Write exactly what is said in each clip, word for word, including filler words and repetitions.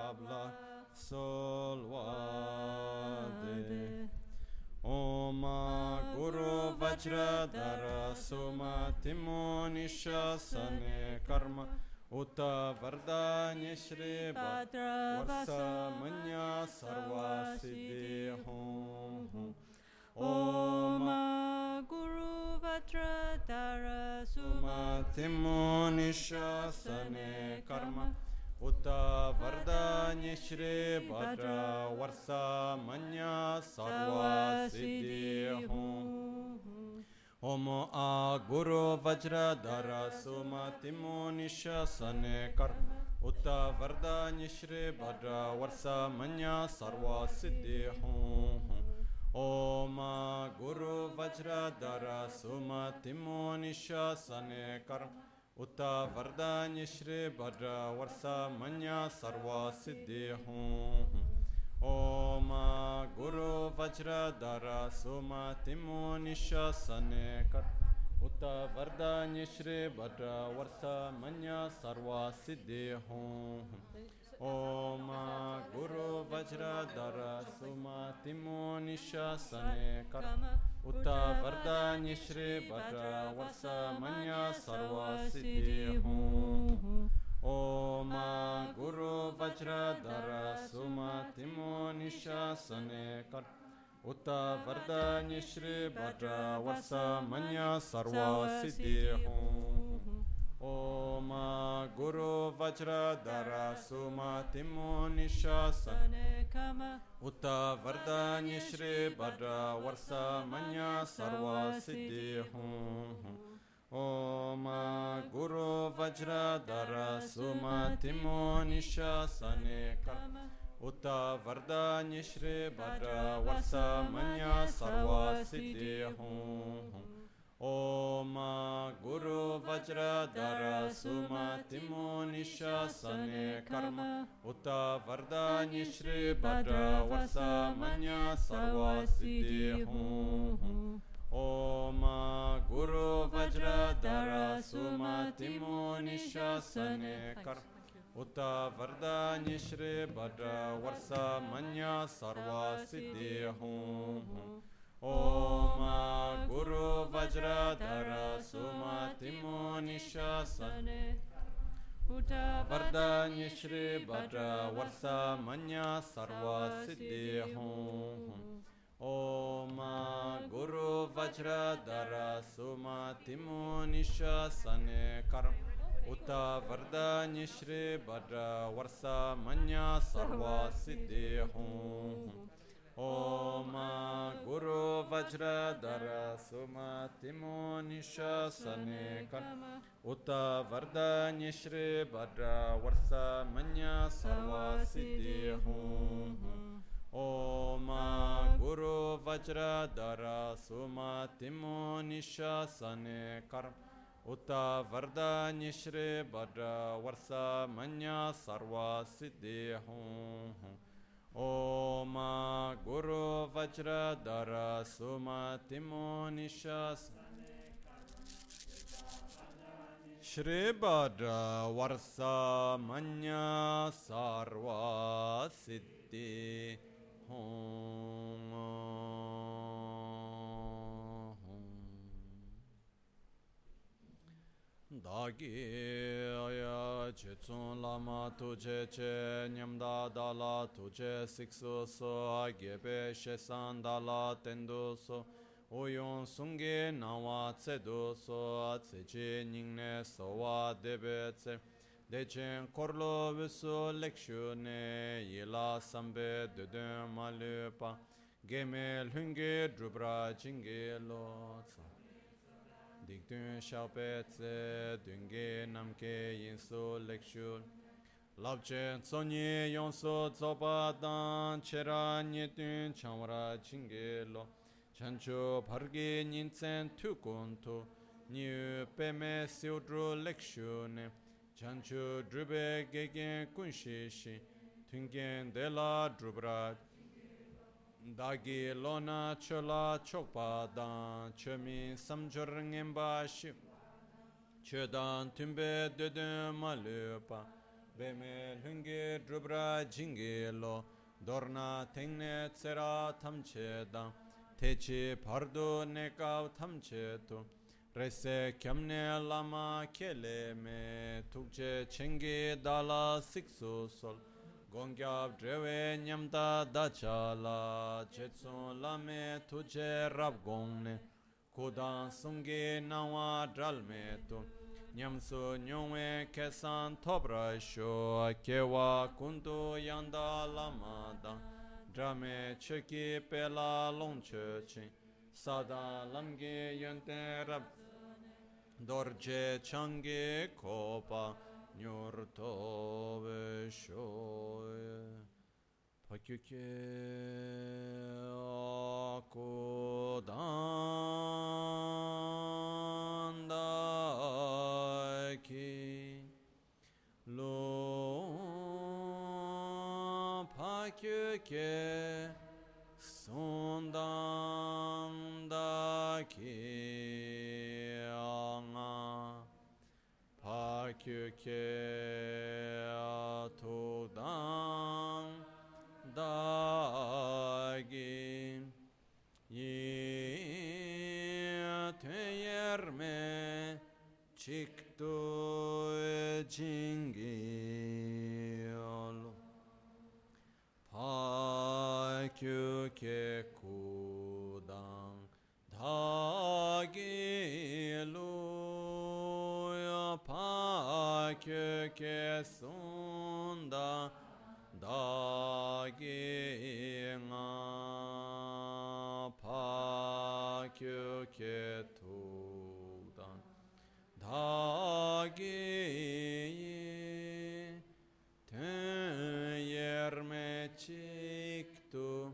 tabla sol va de. Om Guru Vajradhara Sumatimo Nishasane Karma Uta Vardanya Shri Bhadra Vasa Manya Sarva Siddhi Hum. Om Guru Vajradhara Sumatimo Nishasane Karma Uta Vardanya Shri Bhadra Varsa Manya Sarva Siddhi Hum. Om A Guru Vajradhara Sumatimo Nishasane Karma Uta Vardanya Shri Bhadra Varsa Manya Sarva Siddhi Hum. Om Guru Vajradhara Sumatimo Nishasane Karma Uta Vardanya Shri Bhadra Varsa Manya Sarva Siddhi Hum. Om Guru Vajradhara Sumatimo Nishasane Karma Uta Vardanya Shri Bhadra Varsa Manya Sarva Siddhi Hum. Om Guru Vajradhara Sumatimo Nishasane Karma Uta Vardanya Shri Bhadra Varsa Manya Sarva Siddhi Hum. Om Guru Vajradhara Sumatimo Nishasane Karma Uta Vardanya Shri Bhadra Varsa Manya Sarva Siddhi Hum. Om Guru Vajradhara Sumatimo Nishasane Karma Uta Vardanya Shri Bhadra Varsa Manya Sarva Siddhi Hum. Om Guru Vajradhara Sumatimo Nishasane Karma Uta Vardanya Shri Bhadra Varsa Manya Sarva Siddhi Hum. Om Guru Vajradhara Sumatimo Nishasane Karma Uta Vardanya Shri Bhadra Varsa Manya Sarva Siddhi Hum. Om Guru Vajradhara Sumatimo Nishasane Karma Uta Vardanya Shri Bhadra Varsa Manya Sarva Siddhi Hum. Om Guru Vajradhara Sumatimo Nishasane Uta Vardanya Shri Bhadra Varsa Manya Sarva Siddhi Hum. Om Guru Vajradhara Sumatimo Nishasane Karma Uta Vardanya Shri Bhadra Varsa Manya Sarva Siddhi Hum. Om Guru Vajradhara Sumatimo Nishasane Karma Uta Vardanya Shri Bhadra Varsa Manya Sarva Siddhi Hum. Om Guru Vajradhara Sumatimo Nishasane Karma Uta Vardanya Shri Bhadra Varsa Manya Sarva Siddhi Hum. Om Guru Vajradhara Sumatimo Nishasane Shri Bhadra Varsa Manya Sarva Siddhi Hum. Dagi aya chetsun lama tuje che nyamda dala tuje siksu so agebe shesan dala tendu so oyon sunge nawa tsedu so tseche ningne sowa debe tse dechen korlo visu lekshu ne yila sambe dudun malupa gemel hunge drubra jinge lo tsa Dikdun Shaupetse, Dunge Namke Yinsu Lekshul, Labchen Tsonye Yonso Tsopa Dan, Chera Nyetun Chamra Chingelo, Chancho Pargi Ninsen Tukuntu, New Peme Siudru Lekshune, Chancho Drube Gegen Kunshishi, Tungen de la Drubra. Dagi lona chola chokpa dan chomi samjor ngemba shi chodan tumbe dedun malupa Beme lungi drubra jingi lo dorna tengne tsera tamche dang techi pardo nekav tamche tu rese kyamne lama kele me tukche chengi dala siksu sol gongyab drewe nyamda dachala chetsun lame tuje rab gongne kudan sungi nawa dralme tu nyamsu nyungwe kesan topra sho kewa kundu yanda lama dang drame cheki pela longche chin sada lamge yente rab dorje change kopa nyur tobe shoye pakyuke akudanda ki lo pakyuke sondanda ki anga pakyuke atudang dagi yi teyerme chikto jingi olo pakyuke kudang dagi lo ya pakyuke sunda dagi nga pakyuke tudang dagi ten yerme chiktu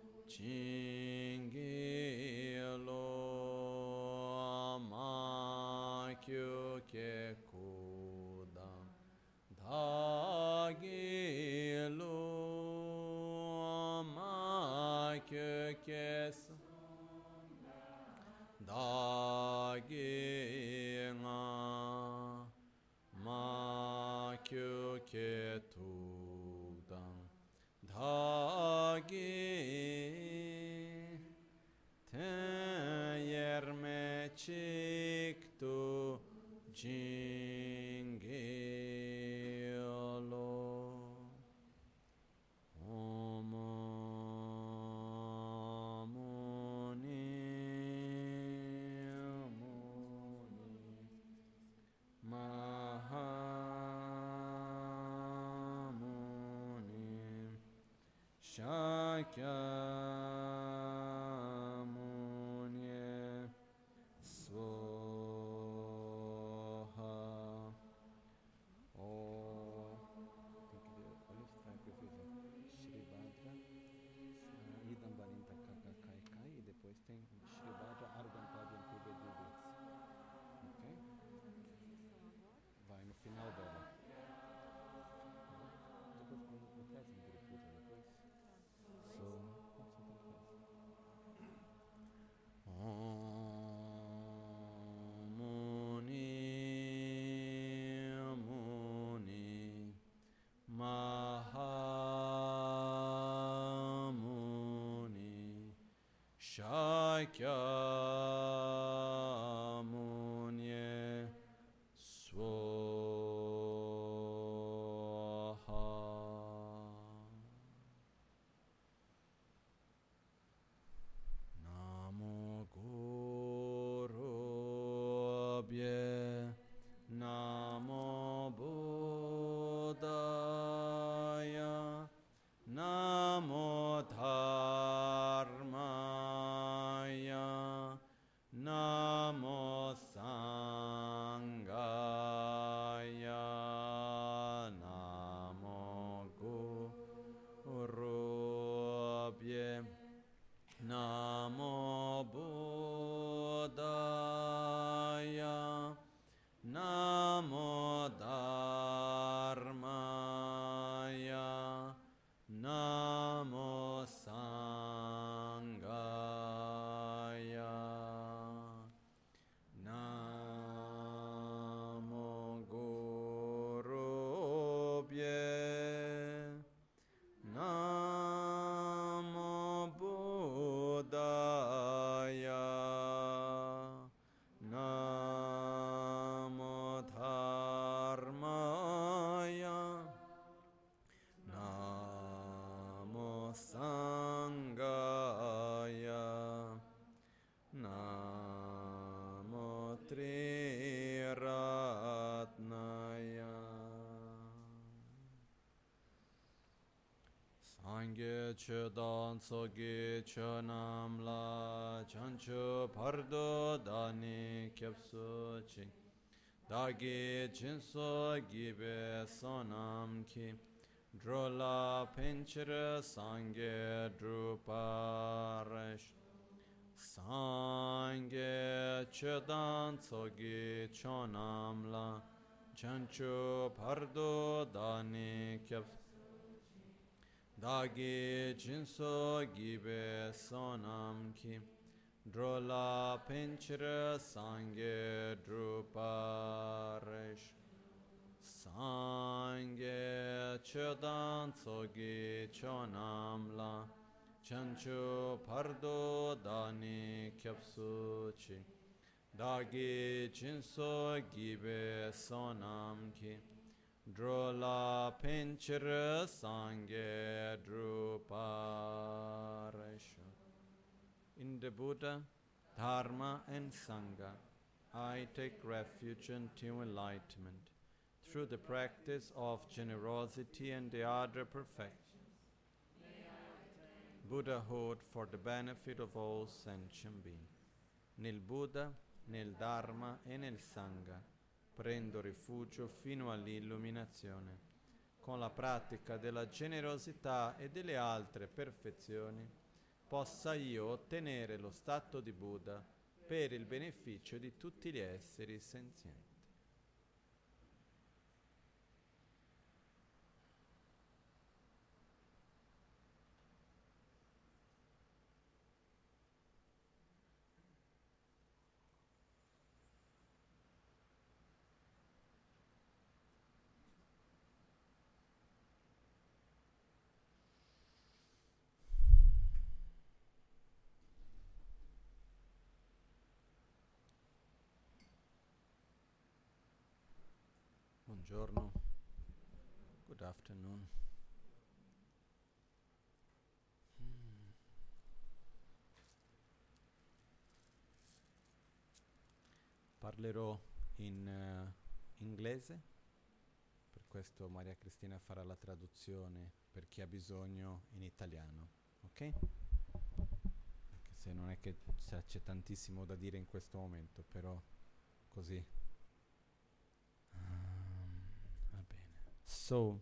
chingi lo makyuke kudang dagi lo makyuke dagi nga makyuke tudang dagi ten yerme chiktu jingi lo Om Muni Muni Mahamuni Shakyamuni Swaha. Oh, tem que ver. Olha os tracks que eu fiz. Shri Bhadra, Idam Balinta Kaka Kai Kai, e depois tem Shri Bhadra Ardam Padam Kube Dubits. Ok? Vai no final dela. Depois quando eu peço um grupo depois. So, Om Muni Muni Mahamuni Shakyamuni Swaha. Namo Gurubhye Namo Buddhaya Namo Dharmaya Namo Dharmaya Namo Sangaya Namo Triratnaya Sangye Chedan Soge Chanam La Chanchu Pardo Dani Kyapsu Chi Dagi Chinso Gibe Sonam Ki Drola Pinchira Sangye Druparash Sangye Chedan Soge Chanam La Chanchu Pardo Dani Kyapsu Dagi Jinso Gibe Sonam Ki Drola Pinchira Sangye Druparesh Sangye Chedan Tsogi Chonam La Chanchu Pardo Dani Kyapsu Chi Dagi Jinso Gibe Sonam Ki Drola Pinchira Sangye Druparesha. In the Buddha, Dharma and Sangha, I take refuge until enlightenment through the practice of generosity and the other perfections. Buddhahood for the benefit of all sentient beings. Nel Buddha, nel Dharma e nel Sangha prendo rifugio fino all'illuminazione. Con la pratica della generosità e delle altre perfezioni possa io ottenere lo stato di Buddha per il beneficio di tutti gli esseri senzienti. Buongiorno. Good afternoon. Hmm. Parlerò in uh, inglese, per questo Maria Cristina farà la traduzione per chi ha bisogno in italiano, ok? Anche se non è che c'è tantissimo da dire in questo momento, però così. So,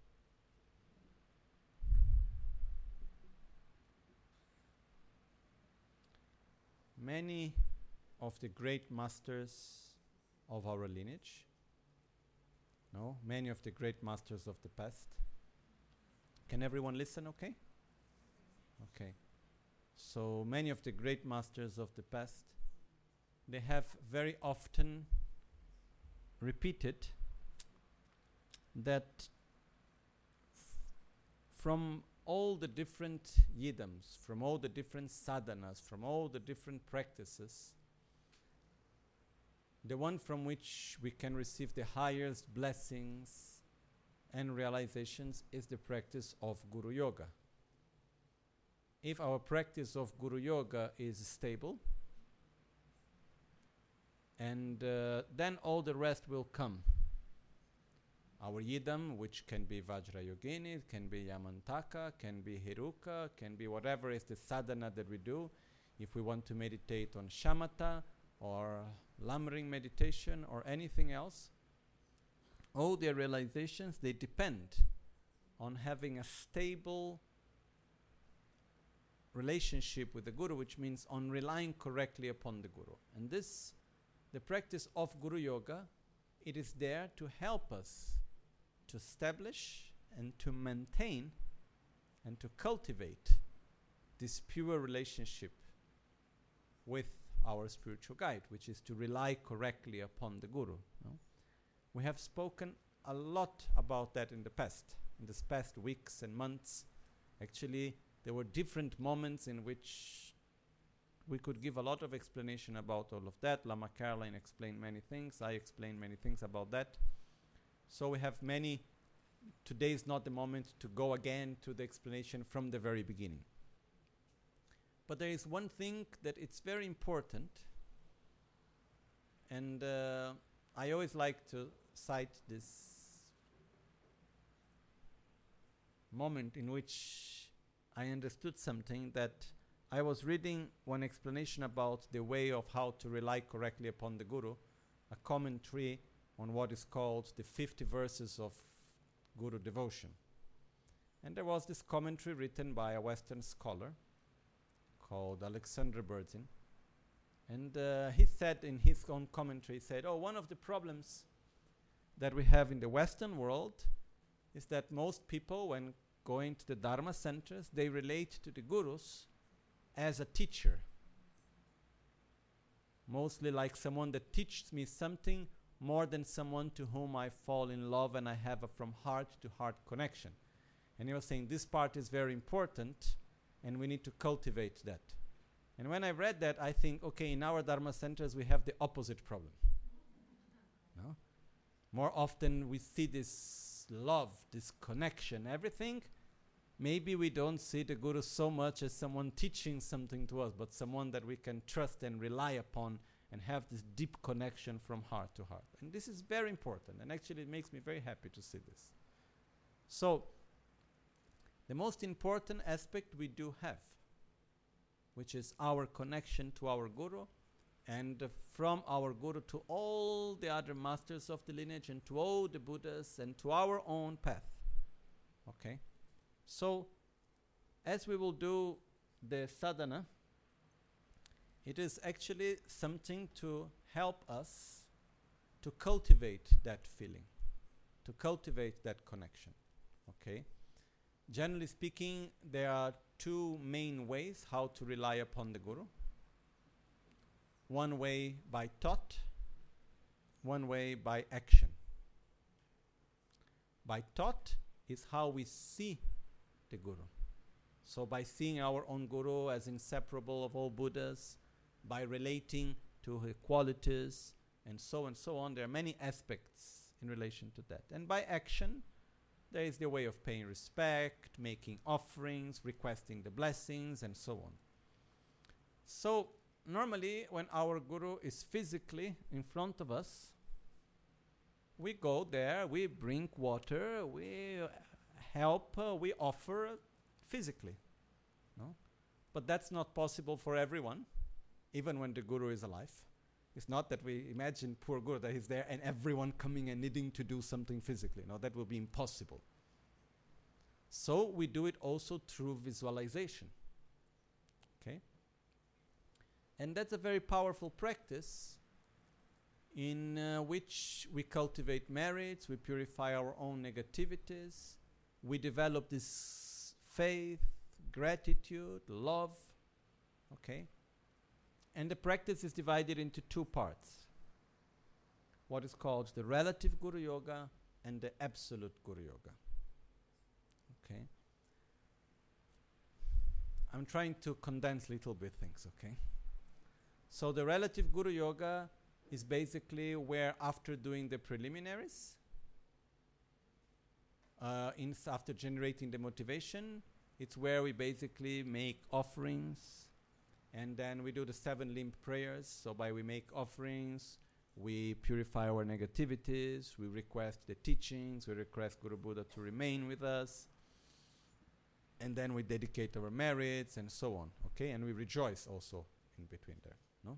many of the great masters of our lineage, no, many of the great masters of the past. Can everyone listen okay? Okay. So, many of the great masters of the past, they have very often repeated that f- from all the different yidams, from all the different sadhanas, from all the different practices, the one from which we can receive the highest blessings and realizations is the practice of Guru Yoga. If our practice of Guru Yoga is stable, and uh, then all the rest will come. Our yidam, which can be Vajrayogini, can be Yamantaka, can be Heruka, can be whatever is the sadhana that we do. If we want to meditate on shamatha or lamrim meditation or anything else, all their realizations, they depend on having a stable relationship with the Guru, which means on relying correctly upon the Guru. And this, the practice of Guru Yoga, it is there to help us to establish and to maintain and to cultivate this pure relationship with our spiritual guide, which is to rely correctly upon the Guru. No? We have spoken a lot about that in the past, in these past weeks and months. Actually, there were different moments in which we could give a lot of explanation about all of that. Lama Caroline explained many things. I explained many things about that. So we have many. Today is not the moment to go again to the explanation from the very beginning. But there is one thing that it's very important, and uh, I always like to cite this moment in which I understood something, that I was reading one explanation about the way of how to rely correctly upon the Guru, a commentary on what is called the fifty verses of Guru devotion. And there was this commentary written by a Western scholar called Alexander Berzin. And uh, he said in his own commentary, he said, oh, one of the problems that we have in the Western world is that most people, when going to the Dharma centers, they relate to the Gurus as a teacher. Mostly like someone that teaches me something more than someone to whom I fall in love and I have a from heart to heart connection. And he was saying this part is very important and we need to cultivate that. And when I read that, I think, okay, in our Dharma centers we have the opposite problem. No? More often we see this love, this connection, everything. Maybe we don't see the Guru so much as someone teaching something to us, but someone that we can trust and rely upon and have this deep connection from heart to heart. And this is very important, and actually it makes me very happy to see this. So, the most important aspect we do have, which is our connection to our Guru, and uh, from our Guru to all the other masters of the lineage, and to all the Buddhas, and to our own path. Okay? So, as we will do the sadhana, it is actually something to help us to cultivate that feeling, to cultivate that connection. Okay? Generally speaking, there are two main ways how to rely upon the Guru. One way by thought, one way by action. By thought is how we see the Guru. So by seeing our own Guru as inseparable of all Buddhas, by relating to his qualities, and so and so on, there are many aspects in relation to that. And by action, there is the way of paying respect, making offerings, requesting the blessings, and so on. So, normally, when our Guru is physically in front of us, we go there, we bring water, we uh, help, uh, we offer physically. No? But that's not possible for everyone, even when the Guru is alive. It's not that we imagine poor Guru that he's there and everyone coming and needing to do something physically. No, that will be impossible. So we do it also through visualization. Okay? And that's a very powerful practice in uh, which we cultivate merits, we purify our own negativities, we develop this faith, gratitude, love. Okay? And the practice is divided into two parts. What is called the relative Guru Yoga and the absolute Guru Yoga. Okay? I'm trying to condense little bit things, okay? So the relative Guru Yoga is basically where after doing the preliminaries, uh, in after generating the motivation, it's where we basically make offerings. And then we do the seven limb prayers. So by we make offerings, we purify our negativities, we request the teachings, we request Guru Buddha to remain with us. And then we dedicate our merits and so on. Okay? And we rejoice also in between there. No?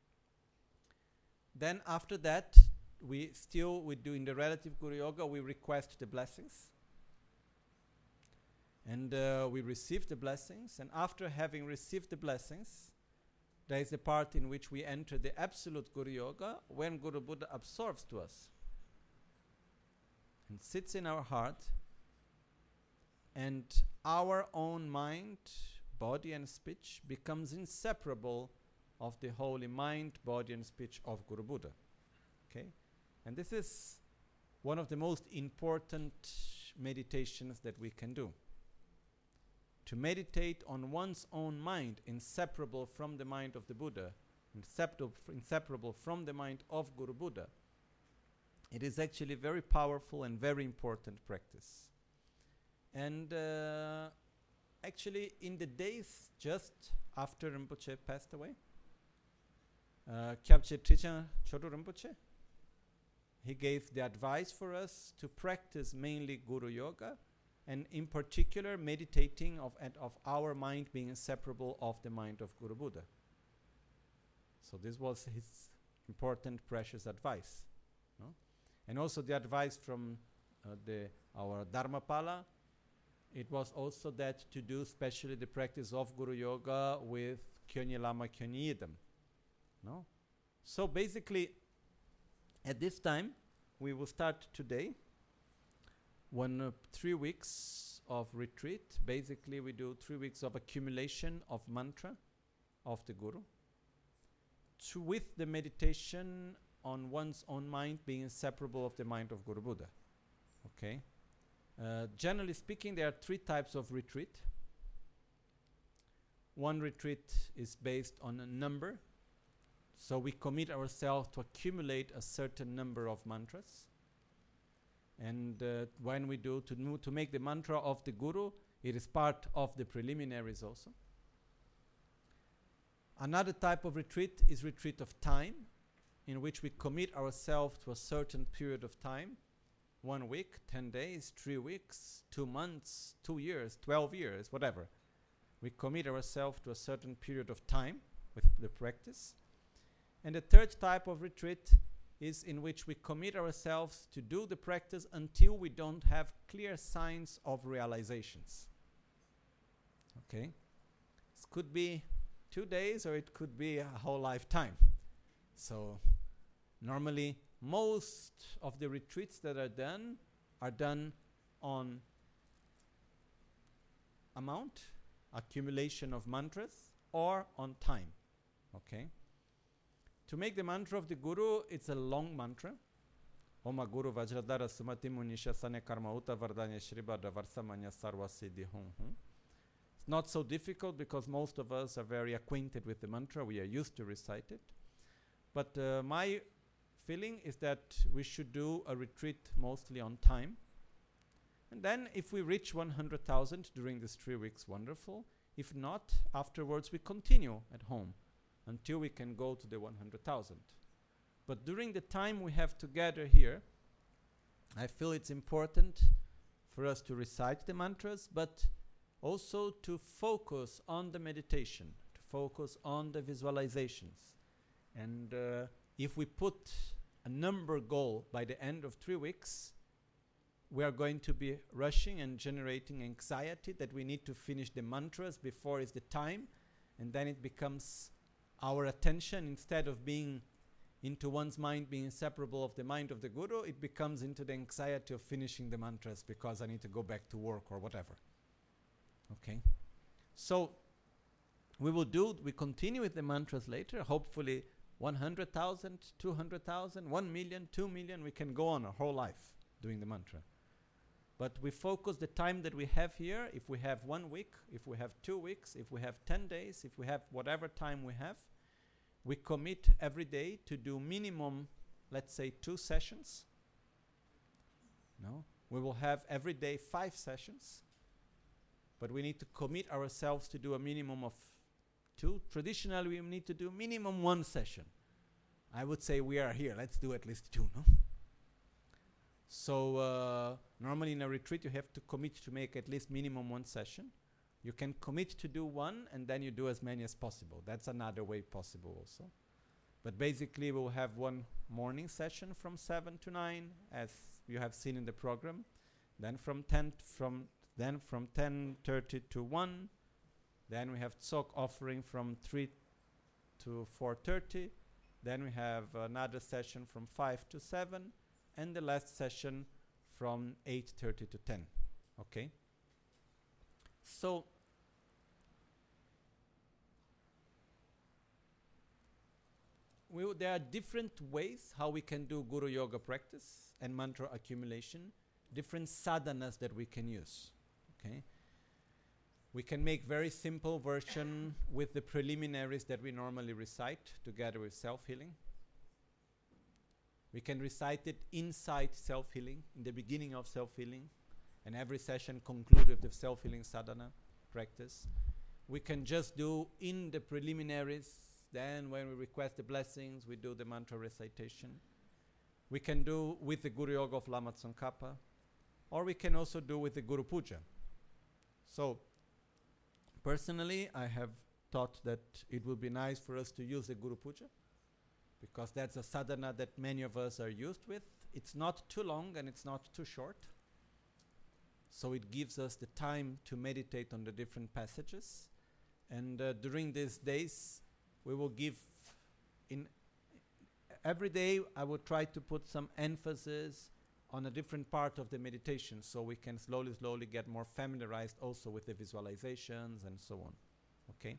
Then after that, we still, we do in the relative Guru Yoga, we request the blessings. And uh, we receive the blessings, and after having received the blessings, there is a part in which we enter the absolute Guru Yoga, when Guru Buddha absorbs to us and sits in our heart, and our own mind, body and speech becomes inseparable of the holy mind, body and speech of Guru Buddha. Okay? And this is one of the most important meditations that we can do. to meditate on one's own mind, inseparable from the mind of the Buddha, inseparable, inseparable from the mind of Guru Buddha, it is actually very powerful and very important practice. And uh, actually, in the days just after Rinpoche passed away, uh, Kyabche Trijang Chodo Rinpoche, he gave the advice for us to practice mainly Guru Yoga, and in particular meditating of, and of our mind being inseparable of the mind of Guru Buddha. So this was his important, precious advice. No? And also the advice from uh, the our Dharmapala, it was also that to do especially the practice of Guru Yoga with Kyonyi Lama Kyonyi Yidam. No? So basically, at this time, we will start today one uh, three weeks of retreat. Basically, we do three weeks of accumulation of mantra of the Guru, to with the meditation on one's own mind being inseparable of the mind of Guru Buddha. Okay. Uh, generally speaking, there are three types of retreat. One retreat is based on a number. So we commit ourselves to accumulate a certain number of mantras. And uh, when we do, to, mo- to make the mantra of the Guru, it is part of the preliminaries also. Another type of retreat is retreat of time, in which we commit ourselves to a certain period of time. One week, ten days, three weeks, two months, two years, twelve years, whatever. We commit ourselves to a certain period of time with the practice. And the third type of retreat is in which we commit ourselves to do the practice until we don't have clear signs of realizations. Okay? This could be two days or it could be a whole lifetime. So normally most of the retreats that are done are done on amount, accumulation of mantras, or on time. Okay? To make the mantra of the Guru, it's a long mantra. Oma Guru Vajradhara Sumati Munisha Sane Karma Uta Vardanya Shribhadra Varsamanya Sarva Siddhi Hum Hum. It's not so difficult because most of us are very acquainted with the mantra. We are used to recite it. But uh, my feeling is that we should do a retreat mostly on time. And then if we reach one hundred thousand during these three weeks, wonderful. If not, afterwards we continue at home until we can go to the one hundred thousand. But during the time we have together here, I feel it's important for us to recite the mantras, but also to focus on the meditation, to focus on the visualizations. And uh, if we put a number goal by the end of three weeks, we are going to be rushing and generating anxiety that we need to finish the mantras before it's the time, and then it becomes our attention, instead of being into one's mind being inseparable of the mind of the Guru, it becomes into the anxiety of finishing the mantras because I need to go back to work or whatever. Okay? So, we will do, we continue with the mantras later, hopefully one hundred thousand, two hundred thousand, one million, two million, we can go on a whole life doing the mantra. But we focus the time that we have here, if we have one week, if we have two weeks, if we have ten days, if we have whatever time we have, we commit every day to do minimum, let's say, two sessions. No? We will have every day five sessions, but we need to commit ourselves to do a minimum of two. Traditionally, we need to do minimum one session. I would say we are here, let's do at least two, no? So uh, normally in a retreat you have to commit to make at least minimum one session. You can commit to do one and then you do as many as possible. That's another way possible also. But basically we'll have one morning session from seven to nine, as you have seen in the program. Then from ten from then from ten thirty to one. Then we have Tsok offering from three to four thirty. Then we have another session from five to seven. And the last session from eight thirty to ten. Okay? So, we w- there are different ways how we can do Guru Yoga practice and mantra accumulation, different sadhanas that we can use. Okay? We can make very simple version with the preliminaries that we normally recite together with self-healing. We can recite it inside self-healing, in the beginning of self-healing, and every session conclude with the self-healing sadhana practice. We can just do in the preliminaries, then when we request the blessings, we do the mantra recitation. We can do with the Guru Yoga of Lama Tsongkhapa, or we can also do with the Guru Puja. So, personally, I have thought that it would be nice for us to use the Guru Puja, because that's a sadhana that many of us are used with. It's not too long and it's not too short. So it gives us the time to meditate on the different passages. And uh, during these days, we will give, in every day, I will try to put some emphasis on a different part of the meditation, so we can slowly, slowly get more familiarized also with the visualizations and so on. Okay?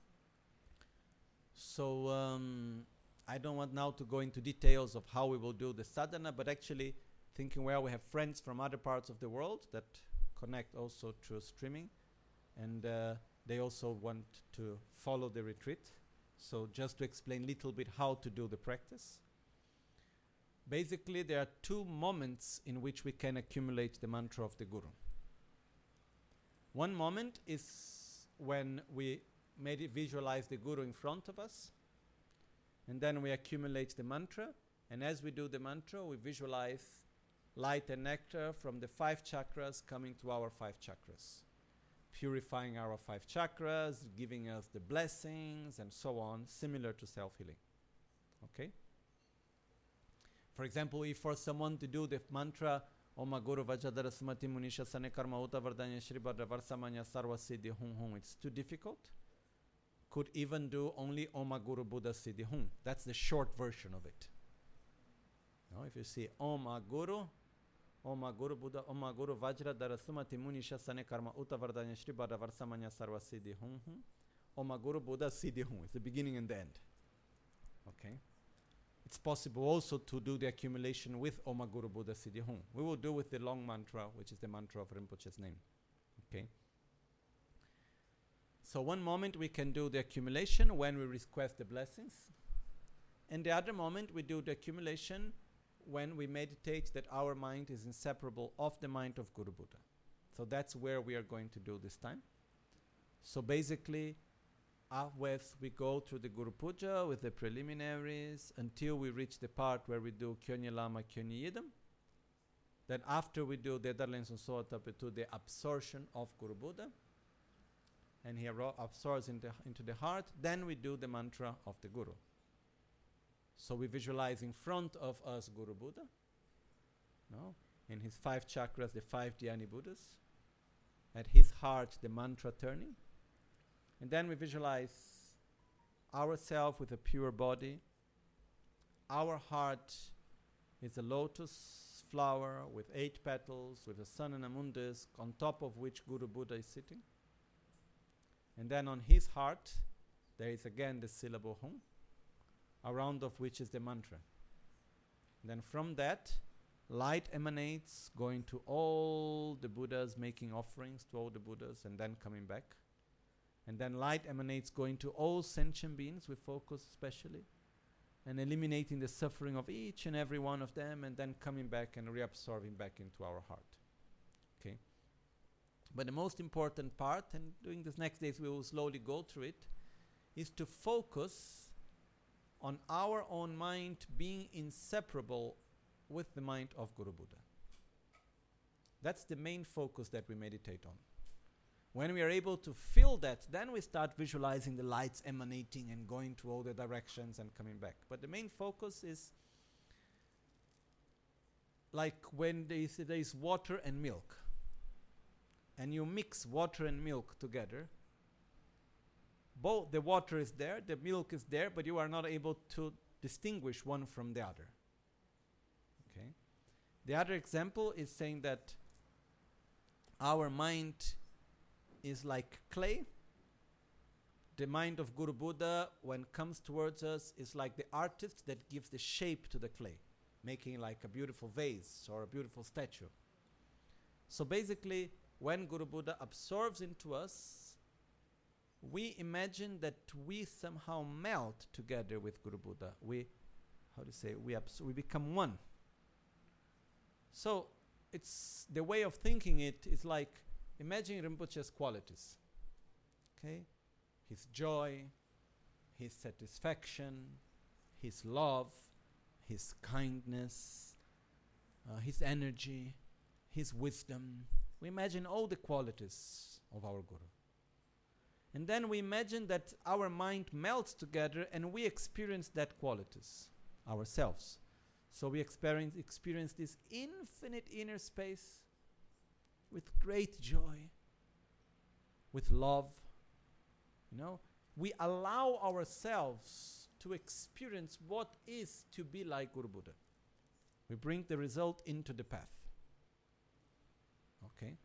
So, um, I don't want now to go into details of how we will do the sadhana, but actually thinking, well, we have friends from other parts of the world that connect also through streaming, and uh, they also want to follow the retreat. So just to explain a little bit how to do the practice. Basically, there are two moments in which we can accumulate the mantra of the Guru. One moment is when we made visualize the Guru in front of us, and then we accumulate the mantra, and as we do the mantra, we visualize light and nectar from the five chakras coming to our five chakras, purifying our five chakras, giving us the blessings, and so on, similar to self-healing. Okay? For example, if for someone to do the mantra, Om Guru Vajradhara Smati Munisha Sane Karma Uta Vardanya Shri Bhadra Varsamanya Sarva Siddhi Hum Hum, it's too difficult, could even do only Om Guru Buddha Siddhi Hum. That's the short version of it. Now, if you see Om Guru, Om Guru Buddha, Om Guru Vajradhara Sumati Munisha Sane Karma Uta Vardanya Shri Bhadra Varsamanya Sarva Siddhi Hum Hum, Om Guru Buddha Siddhi Hum. It's the beginning and the end. Okay? It's possible also to do the accumulation with Om Guru Buddha Siddhi Hum. We will do with the long mantra, which is the mantra of Rinpoche's name. Okay? So one moment we can do the accumulation when we request the blessings. And the other moment we do the accumulation when we meditate that our mind is inseparable of the mind of Guru Buddha. So that's where we are going to do this time. So basically, Always we go through the Guru Puja with the preliminaries until we reach the part where we do Kyonye Lama Kyonye Yidam. Then after we do the Darlens and Soatapetu, the absorption of Guru Buddha, and he ro- absorbs into, into the heart, then we do the mantra of the Guru. So we visualize in front of us Guru Buddha, no? In his five chakras, the five Dhyani Buddhas, at his heart the mantra turning. And then we visualize ourselves with a pure body. Our heart is a lotus flower with eight petals, with a sun and a mundus, on top of which Guru Buddha is sitting. And then on his heart, there is again the syllable Hum, around of which is the mantra. And then from that, light emanates, going to all the Buddhas, making offerings to all the Buddhas, and then coming back. And then light emanates, going to all sentient beings, we focus especially, and eliminating the suffering of each and every one of them, and then coming back and reabsorbing back into our heart. Okay? But the most important part, and during these next days we will slowly go through it, is to focus on our own mind being inseparable with the mind of Guru Buddha. That's the main focus that we meditate on. When we are able to feel that, then we start visualizing the lights emanating and going to all the directions and coming back. But the main focus is like when there is, there is water and milk, and you mix water and milk together. Both the water is there, the milk is there, but you are not able to distinguish one from the other. Okay. The other example is saying that our mind is like clay. The mind of Guru Buddha, when it comes towards us, is like the artist that gives the shape to the clay, making like a beautiful vase or a beautiful statue. So basically, when Guru Buddha absorbs into us, we imagine that we somehow melt together with Guru Buddha. We, how to say, we abs- we become one. So it's the way of thinking it is like imagine Rinpoche's qualities. Okay, his joy, his satisfaction, his love, his kindness, uh, his energy, his wisdom. We imagine all the qualities of our Guru. And then we imagine that our mind melts together and we experience that qualities ourselves. So we experience, experience this infinite inner space with great joy, with love. You know, we allow ourselves to experience what is to be like Guru Buddha. We bring the result into the path. Okay?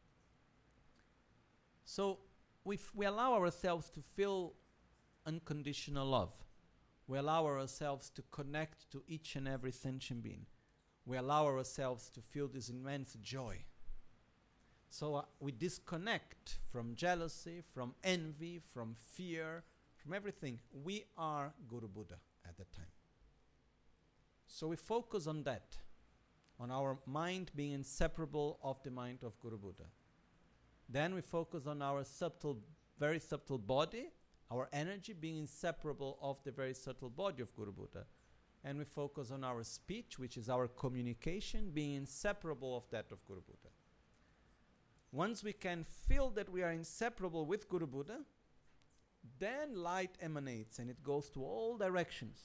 So, we, f- we allow ourselves to feel unconditional love. We allow ourselves to connect to each and every sentient being. We allow ourselves to feel this immense joy. So uh, we disconnect from jealousy, from envy, from fear, from everything. We are Guru Buddha at that time. So we focus on that, on our mind being inseparable of the mind of Guru Buddha. Then we focus on our subtle, very subtle body, our energy being inseparable of the very subtle body of Guru Buddha. And we focus on our speech, which is our communication, being inseparable of that of Guru Buddha. Once we can feel that we are inseparable with Guru Buddha, then light emanates and it goes to all directions.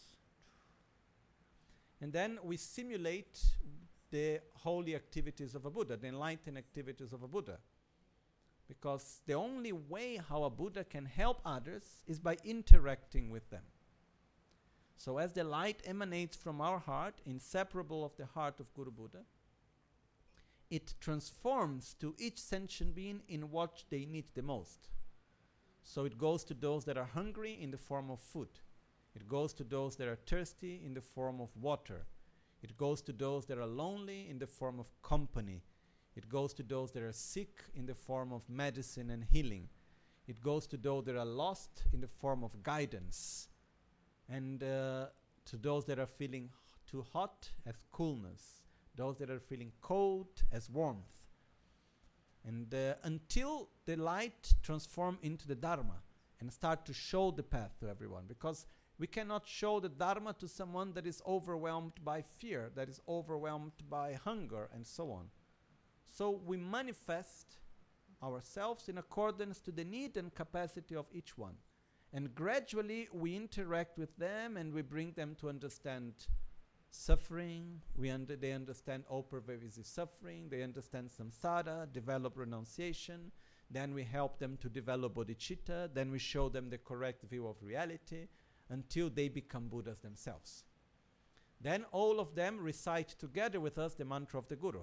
And then we simulate the holy activities of a Buddha, the enlightened activities of a Buddha. Because the only way how a Buddha can help others is by interacting with them. So as the light emanates from our heart, inseparable of the heart of Guru Buddha, it transforms to each sentient being in what they need the most. So it goes to those that are hungry in the form of food. It goes to those that are thirsty in the form of water. It goes to those that are lonely in the form of company. It goes to those that are sick in the form of medicine and healing. It goes to those that are lost in the form of guidance. And uh, to those that are feeling h- too hot as coolness. Those that are feeling cold as warmth. And uh, until the light transform into the Dharma and start to show the path to everyone. Because we cannot show the Dharma to someone that is overwhelmed by fear, that is overwhelmed by hunger, and so on. So we manifest ourselves in accordance to the need and capacity of each one. And gradually we interact with them and we bring them to understand suffering. We under they understand all pervasive suffering. They understand samsara, develop renunciation. Then we help them to develop bodhicitta. Then we show them the correct view of reality until they become Buddhas themselves. Then all of them recite together with us the mantra of the Guru.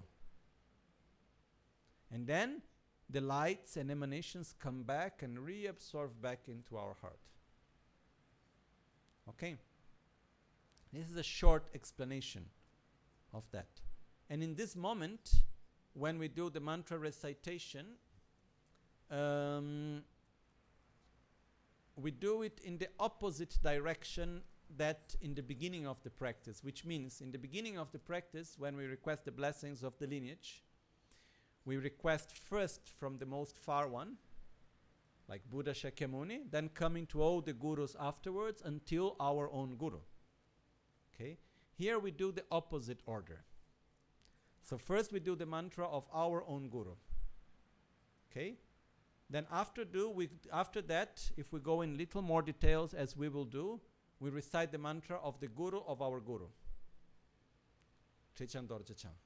And then the lights and emanations come back and reabsorb back into our heart. Okay? This is a short explanation of that. And in this moment, when we do the mantra recitation, um, we do it in the opposite direction that in the beginning of the practice, which means in the beginning of the practice, when we request the blessings of the lineage, we request first from the most far one, like Buddha Shakyamuni, then coming to all the gurus afterwards until our own guru. Okay? Here we do the opposite order. So first we do the mantra of our own guru. Okay? Then after do we after that, if we go in little more details as we will do, we recite the mantra of the guru of our guru. Trichan Dorje Chang.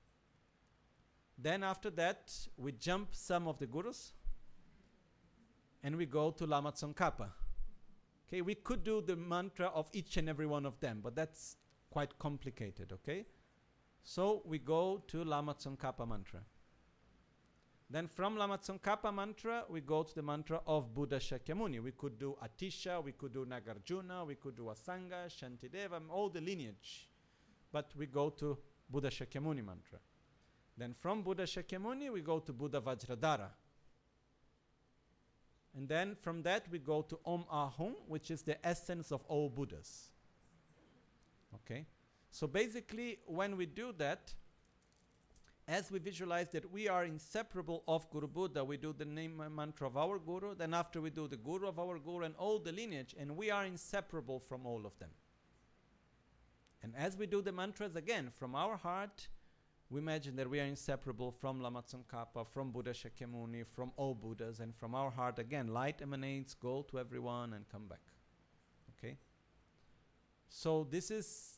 Then after that, we jump some of the gurus and we go to Lama Tsongkhapa. Okay, we could do the mantra of each and every one of them, but that's quite complicated, okay? So we go to Lama Tsongkhapa mantra. Then from Lama Tsongkhapa mantra, we go to the mantra of Buddha Shakyamuni. We could do Atisha, we could do Nagarjuna, we could do Asanga, Shantideva, all the lineage. But we go to Buddha Shakyamuni mantra. Then from Buddha Shakyamuni, we go to Buddha Vajradhara. And then from that we go to Om Ahum, which is the essence of all Buddhas. Okay? So basically, when we do that, as we visualize that we are inseparable of Guru Buddha, we do the name and mantra of our Guru, then after we do the Guru of our Guru and all the lineage, and we are inseparable from all of them. And as we do the mantras again, from our heart, we imagine that we are inseparable from Lama Tsongkhapa, from Buddha Shakyamuni, from all Buddhas, and from our heart again, light emanates, go to everyone and come back. Okay? So this is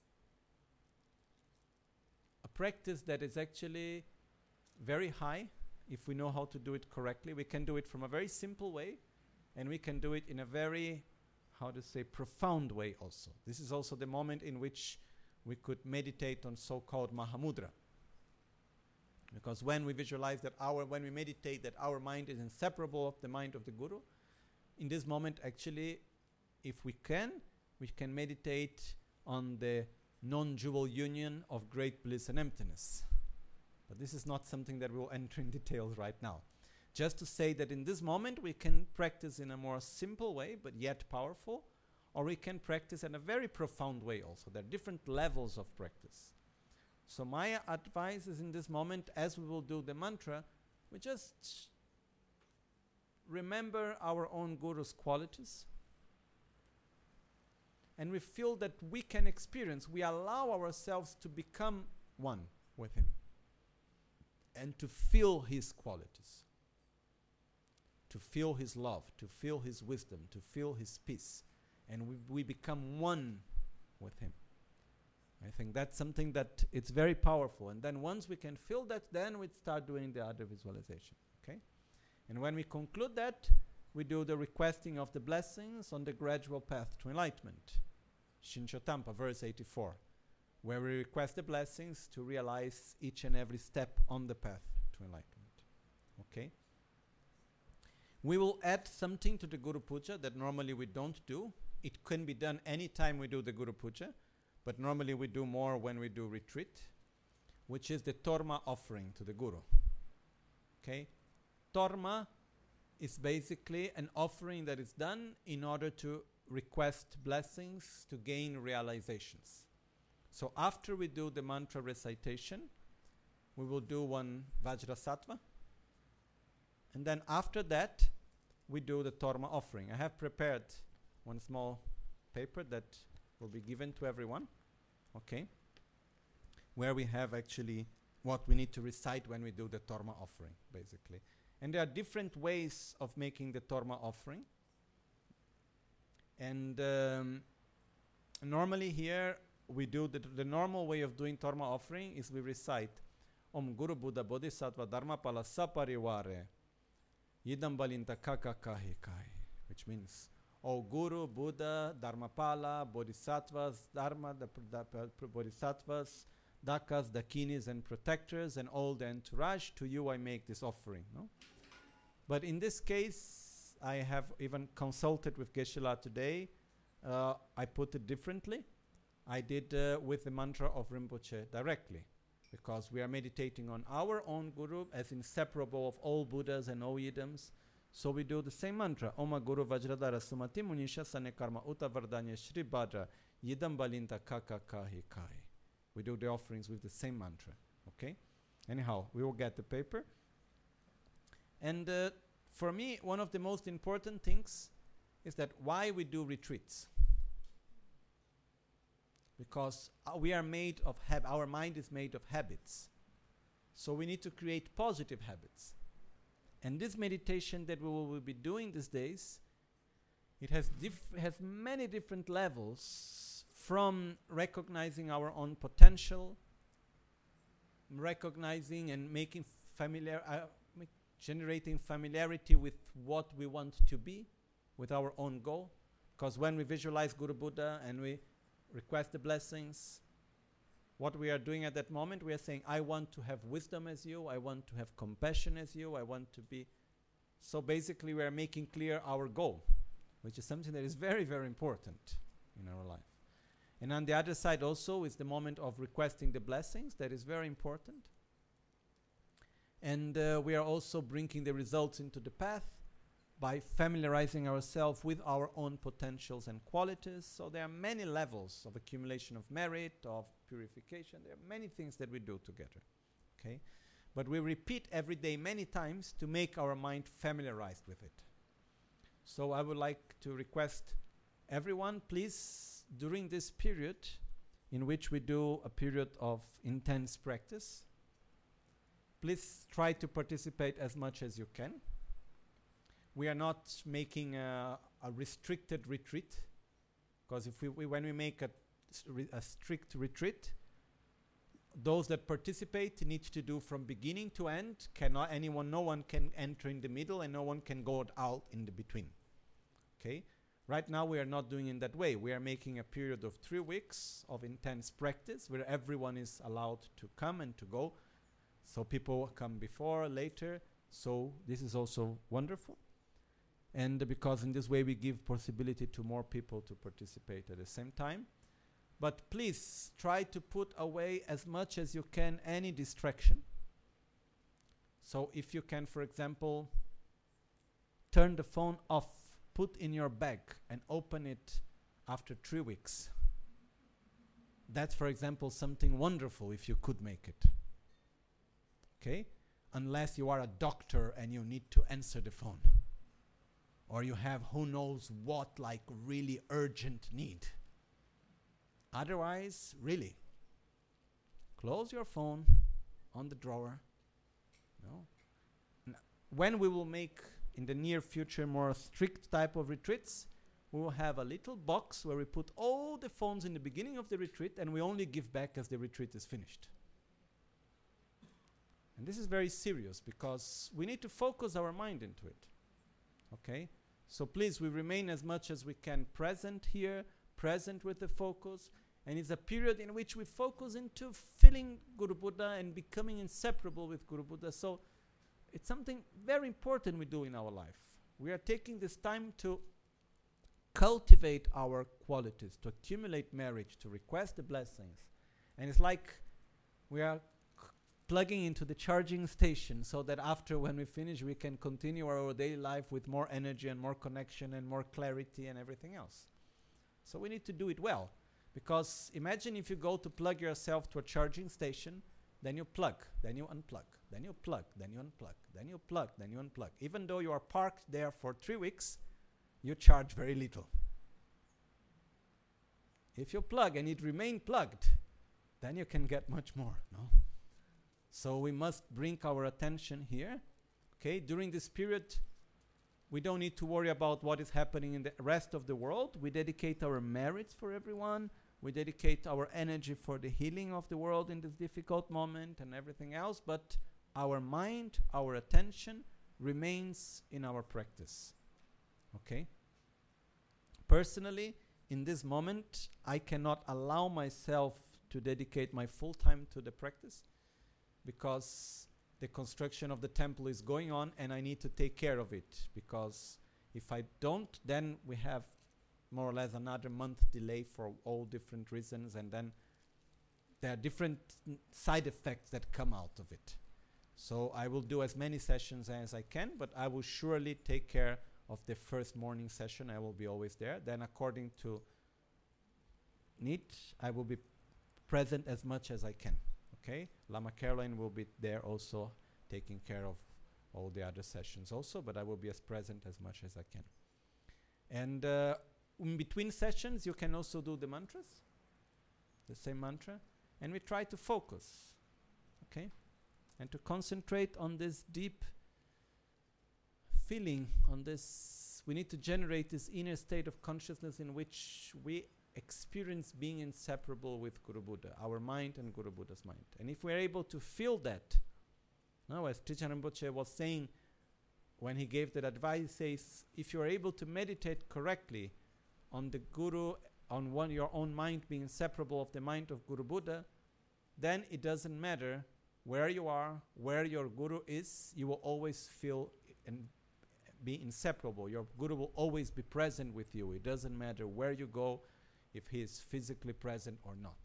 a practice that is actually very high if we know how to do it correctly. We can do it from a very simple way, and we can do it in a very, how to say, profound way also. This is also the moment in which we could meditate on so-called Mahamudra. Because when we visualize that our, when we meditate that our mind is inseparable of the mind of the Guru, in this moment actually, if we can, we can meditate on the non-dual union of great bliss and emptiness. But this is not something that we'll enter in details right now. Just to say that in this moment we can practice in a more simple way, but yet powerful, or we can practice in a very profound way also. There are different levels of practice. So my advice is in this moment, as we will do the mantra, we just remember our own Guru's qualities, and we feel that we can experience, we allow ourselves to become one with him and to feel his qualities, to feel his love, to feel his wisdom, to feel his peace, and we, we become one with him. I think that's something that it's very powerful. And then once we can feel that, then we start doing the other visualization. Okay? And when we conclude that, we do the requesting of the blessings on the gradual path to enlightenment. Shinchotampa, verse eighty-four, where we request the blessings to realize each and every step on the path to enlightenment. Okay? We will add something to the Guru Puja that normally we don't do. It can be done anytime we do the Guru Puja, but normally we do more when we do retreat, which is the Torma offering to the Guru. Okay? Torma is basically an offering that is done in order to request blessings to gain realizations. So after we do the mantra recitation, we will do one Vajrasattva, and then after that, we do the Torma offering. I have prepared one small paper that will be given to everyone, okay, where we have actually what we need to recite when we do the Torma offering, basically. And there are different ways of making the Torma offering. And um, normally here, we do the, the normal way of doing Torma offering is we recite Om Guru Buddha Bodhisattva Dharmapala Saparivare Yidam Balinta Kaka Kahi Kai, which means, O Guru, Buddha, Dharmapala, Bodhisattvas, Dharma, the pr- pr- Bodhisattvas, Dakas, Dakinis, and protectors, and all the entourage, to you I make this offering. No? But in this case, I have even consulted with Geshe-la today. Uh, I put it differently. I did uh, with the mantra of Rinpoche directly, because we are meditating on our own Guru as inseparable of all Buddhas and all Yidams. So we do the same mantra. Oma Guru Vajradhara Sumati Munisha Sane Karma Uta Vardanya Shri Bhadra Yidam Balinta Kaka Kahi Kai. We do the offerings with the same mantra. Okay? Anyhow, we will get the paper. And uh, for me, one of the most important things is that why we do retreats. Because uh, we are made of, hab- our mind is made of habits. So we need to create positive habits. And this meditation that we will be doing these days, it has, diff- has many different levels, from recognizing our own potential, recognizing and making familiar, uh, make generating familiarity with what we want to be, with our own goal. Because when we visualize Guru Buddha and we request the blessings, what we are doing at that moment, we are saying, I want to have wisdom as you, I want to have compassion as you, I want to be... So basically we are making clear our goal, which is something that is very, very important in our life. And on the other side also is the moment of requesting the blessings, that is very important. And uh, we are also bringing the results into the path, by familiarizing ourselves with our own potentials and qualities. So there are many levels of accumulation of merit, of purification. There are many things that we do together. Okay? But we repeat every day many times to make our mind familiarized with it. So I would like to request everyone, please, during this period in which we do a period of intense practice, please try to participate as much as you can. We are not making a, a restricted retreat, because if we, we when we make a, a strict retreat, those that participate need to do from beginning to end. Cannot anyone, no one can enter in the middle, and no one can go out in the between. Okay? Right now we are not doing in that way. We are making a period of three weeks of intense practice where everyone is allowed to come and to go. So people come before, later. So this is also wonderful. And uh, because in this way we give possibility to more people to participate at the same time. But please try to put away as much as you can any distraction. So if you can, for example, turn the phone off, put in your bag and open it after three weeks. That's, for example, something wonderful if you could make it. Okay? Unless you are a doctor and you need to answer the phone. Or you have who knows what, like really urgent need. Otherwise, really, close your phone on the drawer. No. N- when we will make in the near future more strict type of retreats, we will have a little box where we put all the phones in the beginning of the retreat, and we only give back as the retreat is finished. And this is very serious because we need to focus our mind into it. Okay? So please, we remain as much as we can present here, present with the focus, and it's a period in which we focus into feeling Guru Buddha and becoming inseparable with Guru Buddha. So it's something very important we do in our life. We are taking this time to cultivate our qualities, to accumulate merit, to request the blessings. And it's like we are c- plugging into the charging station so that after when we finish we can continue our daily life with more energy and more connection and more clarity and everything else. So we need to do it well. Because imagine if you go to plug yourself to a charging station, then you plug, then you unplug, then you plug, then you unplug, then you plug, then you unplug. Even though you are parked there for three weeks, you charge very little. If you plug and it remain plugged, then you can get much more, no? So we must bring our attention here. Okay, during this period, we don't need to worry about what is happening in the rest of the world. We dedicate our merits for everyone. We dedicate our energy for the healing of the world in this difficult moment and everything else. But our mind, our attention remains in our practice. Okay? Personally, in this moment, I cannot allow myself to dedicate my full time to the practice because the construction of the temple is going on and I need to take care of it, because if I don't, then we have more or less another month delay for all different reasons, and then there are different n- side effects that come out of it. So I will do as many sessions as I can, but I will surely take care of the first morning session. I will be always there. Then according to need, I will be present as much as I can. Okay, Lama Caroline will be there also taking care of all the other sessions also, but I will be as present as much as I can. And uh, in between sessions, you can also do the mantras, the same mantra, and we try to focus, okay, and to concentrate on this deep feeling, on this, we need to generate this inner state of consciousness in which we experience being inseparable with Guru Buddha, our mind and Guru Buddha's mind. And if we're able to feel that, now as Trijang Rinpoche was saying when he gave that advice, he says, if you're able to meditate correctly on the Guru, on one your own mind being inseparable of the mind of Guru Buddha, then it doesn't matter where you are, where your Guru is, you will always feel and be inseparable. Your Guru will always be present with you. It doesn't matter where you go, if he is physically present or not.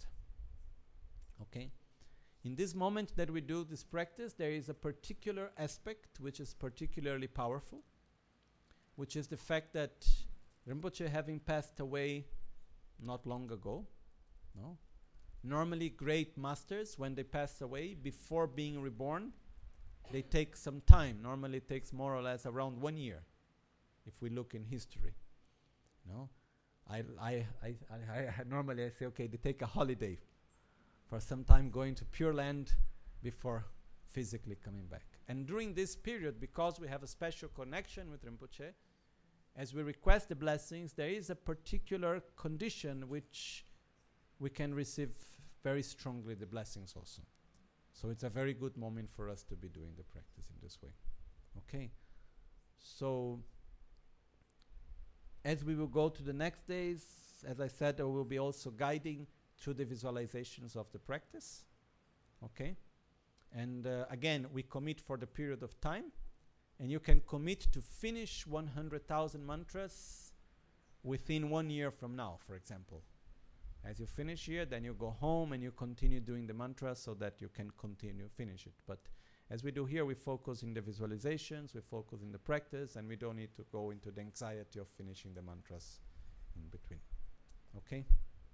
Okay? In this moment that we do this practice, there is a particular aspect which is particularly powerful. which is the fact that Rinpoche having passed away not long ago, no? Normally great masters, when they pass away, before being reborn, they take some time. Normally it takes more or less around one year, if we look in history. No? I, I, I, I, I normally I say, okay, they take a holiday for some time going to Pure Land before physically coming back. And during this period, because we have a special connection with Rinpoche, as we request the blessings, there is a particular condition which we can receive very strongly the blessings also. So it's a very good moment for us to be doing the practice in this way. Okay? So, as we will go to the next days, as I said, I will be also guiding through the visualizations of the practice. Okay? And uh, again, we commit for the period of time, and you can commit to finish one hundred thousand mantras within one year from now, for example. As you finish here, then you go home and you continue doing the mantra so that you can continue finish it. But as we do here, we focus in the visualizations, we focus in the practice, and we don't need to go into the anxiety of finishing the mantras in between. Okay?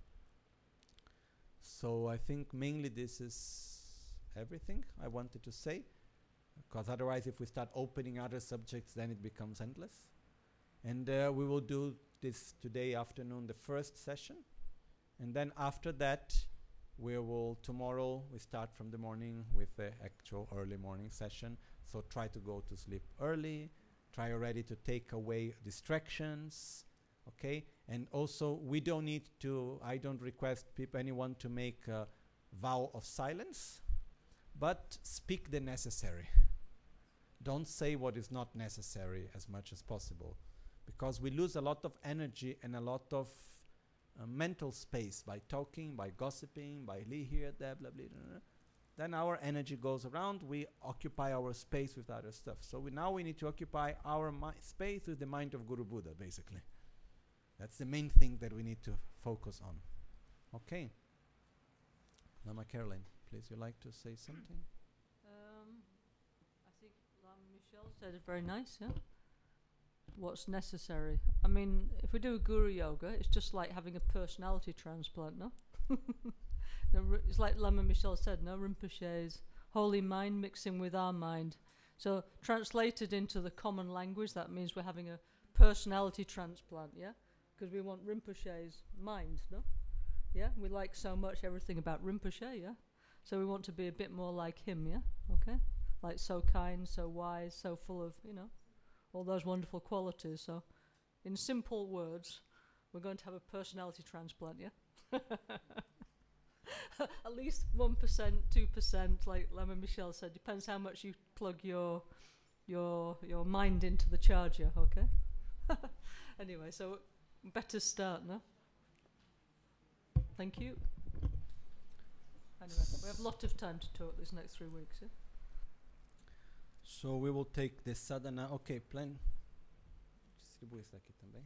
So I think mainly this is everything I wanted to say, because otherwise if we start opening other subjects, then it becomes endless. And uh, we will do this today afternoon, the first session. And then after that, we will, tomorrow, we start from the morning with the actual early morning session. So try to go to sleep early. Try already to take away distractions. Okay? And also, we don't need to, I don't request peop- anyone to make a vow of silence, but speak the necessary. Don't say what is not necessary as much as possible, because we lose a lot of energy and a lot of Uh, mental space by talking, by gossiping, by li here, there, blah, blah, blah, blah. Then our energy goes around, we occupy our space with other stuff. So we now we need to occupy our mi- space with the mind of Guru Buddha, basically. That's the main thing that we need to focus on. Okay. Lama Caroline, please, you like to say something? Um, I think Lama Michelle said it very nice, yeah? What's necessary. I mean, if we do Guru Yoga, it's just like having a personality transplant, no? no r- it's like Lama Michelle said, no? Rinpoche's holy mind mixing with our mind. So translated into the common language, that means we're having a personality transplant, yeah? Because we want Rinpoche's mind, no? Yeah? We like so much everything about Rinpoche, yeah? So we want to be a bit more like him, yeah? Okay? Like so kind, so wise, so full of, you know, all those wonderful qualities. So, in simple words, we're going to have a personality transplant, yeah? At least one percent, two percent, like Lama Michelle said, depends how much you plug your your your mind into the charger, okay? Anyway, so better start, no? Thank you. Anyway, we have a lot of time to talk these next three weeks, yeah? So we will take the sadhana. Okay, plan. Distribui isso aqui também.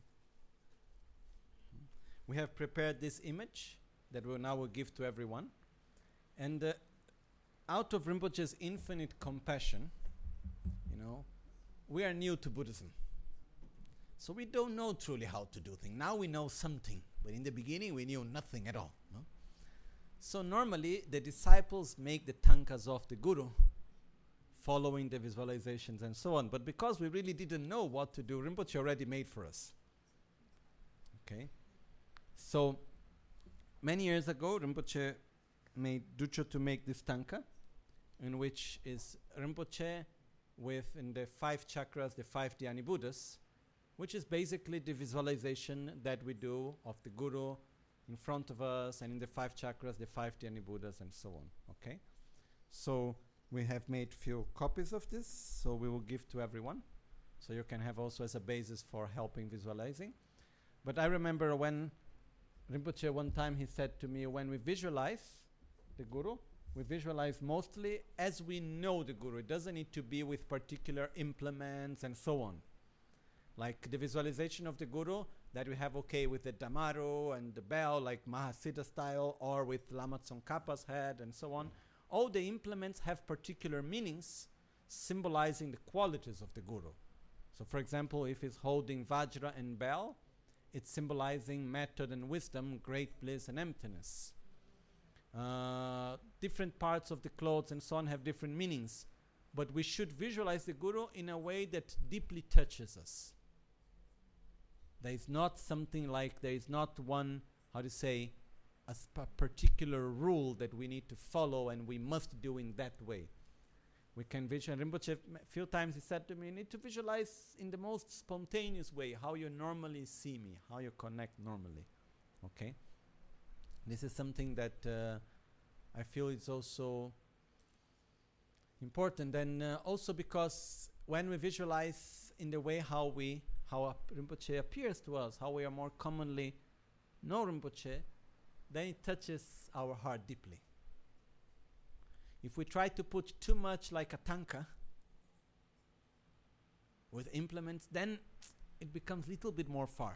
We have prepared this image that we now will give to everyone. And uh, out of Rinpoche's infinite compassion, you know, we are new to Buddhism. So we don't know truly how to do things. Now we know something, but in the beginning we knew nothing at all. No? So normally the disciples make the tankas of the Guru, following the visualizations and so on. But because we really didn't know what to do, Rinpoche already made for us. Okay? So, many years ago, Rinpoche made Ducho to make this tanka, in which is Rinpoche with, in the five chakras, the five Dhyani Buddhas, which is basically the visualization that we do of the Guru in front of us, and in the five chakras, the five Dhyani Buddhas, and so on. Okay? So, we have made few copies of this, so we will give to everyone. So you can have also as a basis for helping visualizing. But I remember when Rinpoche one time he said to me, when we visualize the Guru, we visualize mostly as we know the Guru. It doesn't need to be with particular implements and so on. Like the visualization of the Guru that we have, okay, with the Damaru and the bell, like Mahasiddha style, or with Lama Tsongkhapa's head and so on. All the implements have particular meanings, symbolizing the qualities of the Guru. So for example, if he's holding Vajra and bell, it's symbolizing method and wisdom, great bliss and emptiness. Uh, different parts of the clothes and so on have different meanings, but we should visualize the Guru in a way that deeply touches us. There is not something like, there is not one, how to say, a sp- particular rule that we need to follow and we must do in that way. We can visualize. Rinpoche, a few times he said to me, you need to visualize in the most spontaneous way how you normally see me, how you connect normally. Okay? This is something that uh, I feel is also important. And uh, also because when we visualize in the way how we, how uh, Rinpoche appears to us, how we are more commonly know Rinpoche, then it touches our heart deeply. If we try to put too much like a tanka with implements, then it becomes a little bit more far.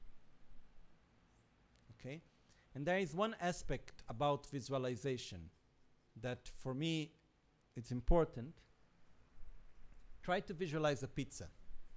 Okay? And there is one aspect about visualization that for me it's important. Try to visualize a pizza.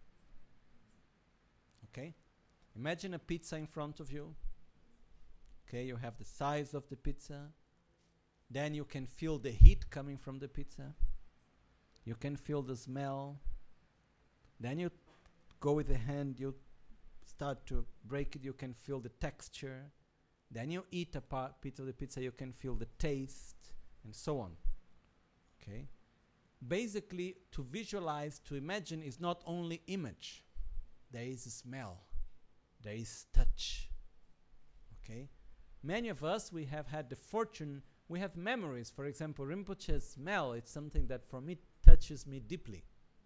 Okay? Imagine a pizza in front of you. Okay, you have the size of the pizza. Then you can feel the heat coming from the pizza. You can feel the smell. Then you go with the hand, you start to break it, you can feel the texture. Then you eat a part piece of the pizza, you can feel the taste, and so on. Okay? Basically, to visualize, to imagine is not only image. There is a smell. There is touch. Okay? Many of us, we have had the fortune, we have memories. For example, Rinpoche's smell, it's something that for me touches me deeply.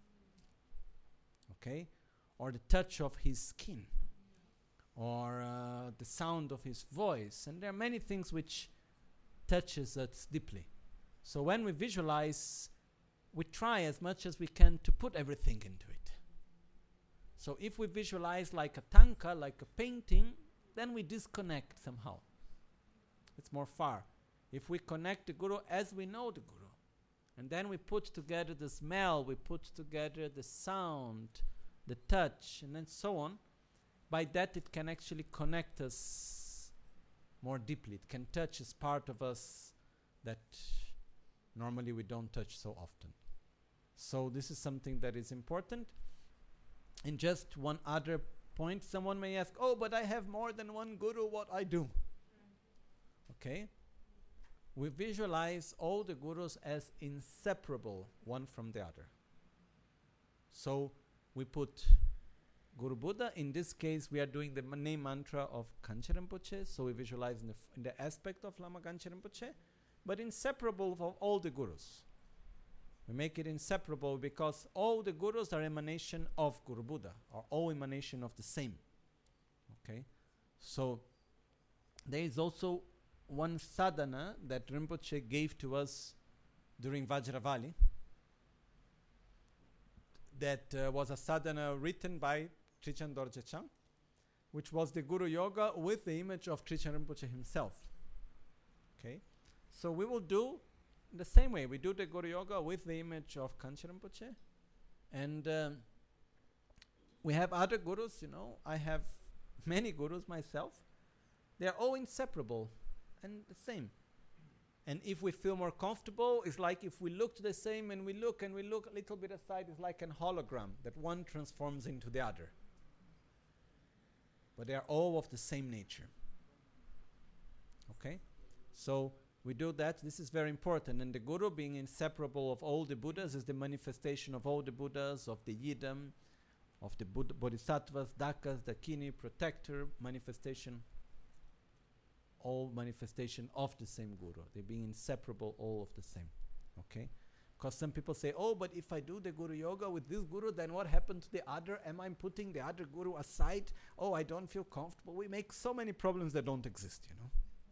Okay? Or the touch of his skin. Or uh, the sound of his voice. And there are many things which touches us deeply. So when we visualize, we try as much as we can to put everything into it. So if we visualize like a tanka, like a painting, then we disconnect somehow. It's more far. If we connect the Guru as we know the Guru, and then we put together the smell, we put together the sound, the touch, and then so on, by that it can actually connect us more deeply. It can touch as part of us that normally we don't touch so often. So this is something that is important. And just one other point, someone may ask, oh, but I have more than one Guru, what I do? Okay? We visualize all the Gurus as inseparable one from the other. So we put Guru Buddha. In this case, we are doing the ma- name mantra of Kanchen Rinpoche, so we visualize in the, f- in the aspect of Lama Kanchen Rinpoche, but inseparable from all the Gurus. We make it inseparable because all the Gurus are emanation of Guru Buddha, or all emanation of the same. Okay? So there is also one sadhana that Rinpoche gave to us during Vajravali. That uh, was a sadhana written by Trichan Dorje Chang, which was the Guru Yoga with the image of Trichan Rinpoche himself. Okay? So we will do the same way. We do the Guru Yoga with the image of Kanchen Rinpoche. And um, we have other Gurus, you know. I have many Gurus myself. They are all inseparable and the same. And if we feel more comfortable, it's like if we look the same and we look and we look a little bit aside, it's like an hologram that one transforms into the other. But they are all of the same nature. Okay? So we do that. This is very important. And the Guru, being inseparable of all the Buddhas, is the manifestation of all the Buddhas, of the Yidam, of the Buddha, Bodhisattvas, Dakas, Dakini, protector, manifestation, all manifestation of the same Guru. They being inseparable, all of the same. Okay? Because some people say, oh, but if I do the Guru Yoga with this Guru, then what happened to the other? Am I putting the other Guru aside? Oh, I don't feel comfortable. We make so many problems that don't exist, you know.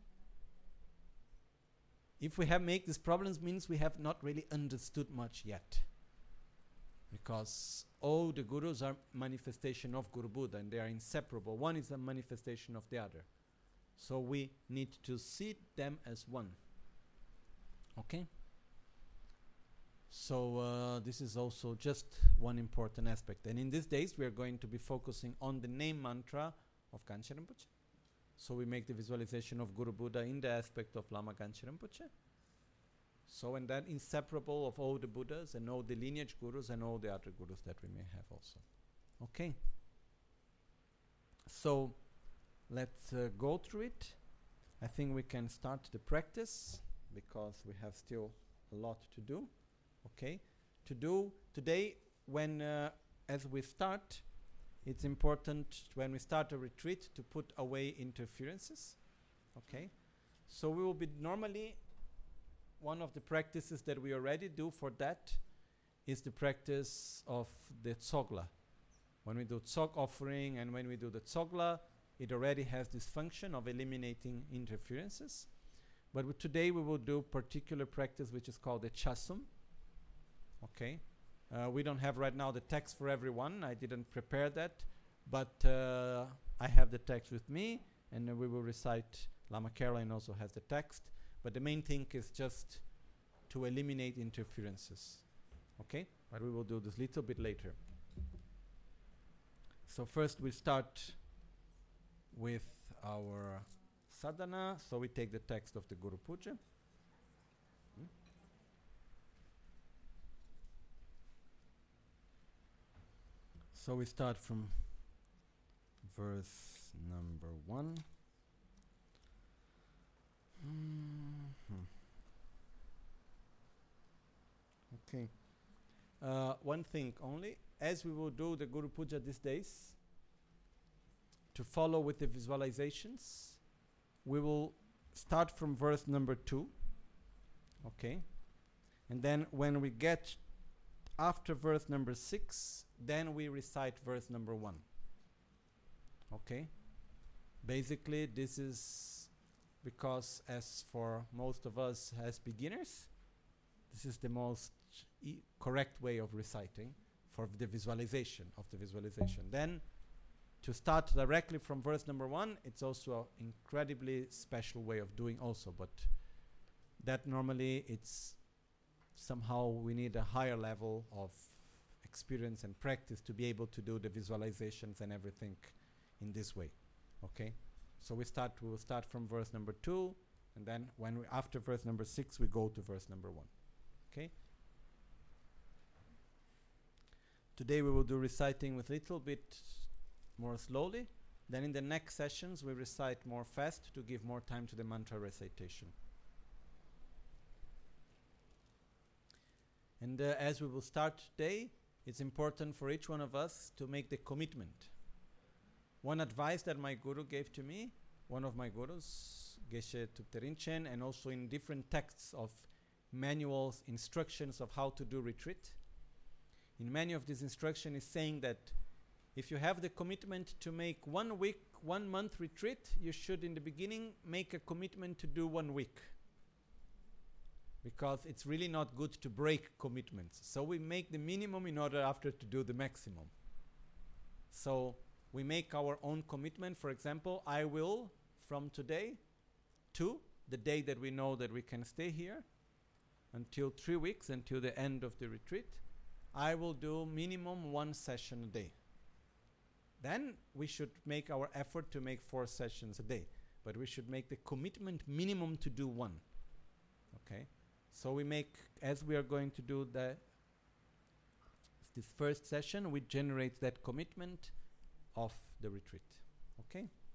If we have make these problems, means we have not really understood much yet. Because all the Gurus are manifestation of Guru Buddha, and they are inseparable. One is a manifestation of the other. So we need to see them as one. Okay? So uh, this is also just one important aspect. And in these days, we are going to be focusing on the name mantra of Ganchen Rinpoche. So we make the visualization of Guru Buddha in the aspect of Lama Ganchen Rinpoche. So, and that inseparable of all the Buddhas and all the lineage gurus and all the other gurus that we may have also. Okay. So, let's uh, go through it. I think we can start the practice because we have still a lot to do. Okay. To do today, when uh, as we start, it's important when we start a retreat to put away interferences. Okay. So we will be normally. One of the practices that we already do for that is the practice of the tsogla. When we do tsog offering and when we do the tsogla, it already has this function of eliminating interferences. But w- today we will do particular practice which is called the chasum. Okay. Uh, we don't have right now the text for everyone. I didn't prepare that. But uh, I have the text with me and uh, we will recite. Lama Caroline also has the text. But the main thing is just to eliminate interferences. Okay? But we will do this little bit later. So first we start with our sadhana. So we take the text of the Guru Puja. Hmm? So we start from verse number one. Mm-hmm. Okay. Uh, one thing only, as we will do the Guru Puja these days, to follow with the visualizations, we will start from verse number two. Okay. And then when we get after verse number six, then we recite verse number one. Okay. Basically, this is because as for most of us as beginners, this is the most e- correct way of reciting for the visualization of the visualization. Then to start directly from verse number one, it's also an incredibly special way of doing also, but that normally it's somehow we need a higher level of experience and practice to be able to do the visualizations and everything in this way. Okay? So we start. We will start from verse number two, and then when we after verse number six, we go to verse number one. Okay. Today we will do reciting with a little bit more slowly. Then in the next sessions we recite more fast to give more time to the mantra recitation. And uh, as we will start today, it's important for each one of us to make the commitment. One advice that my guru gave to me, one of my gurus, Geshe Thupte Rinchen, and also in different texts of manuals, instructions of how to do retreat. In many of these instructions is saying that if you have the commitment to make one week, one month retreat, you should in the beginning make a commitment to do one week. Because it's really not good to break commitments. So we make the minimum in order after to do the maximum. So we make our own commitment. For example, I will, from today to the day that we know that we can stay here, until three weeks, until the end of the retreat, I will do minimum one session a day. Then we should make our effort to make four sessions a day. But we should make the commitment minimum to do one. Okay? So we make, as we are going to do the this first session, we generate that commitment of the retreat. Okay?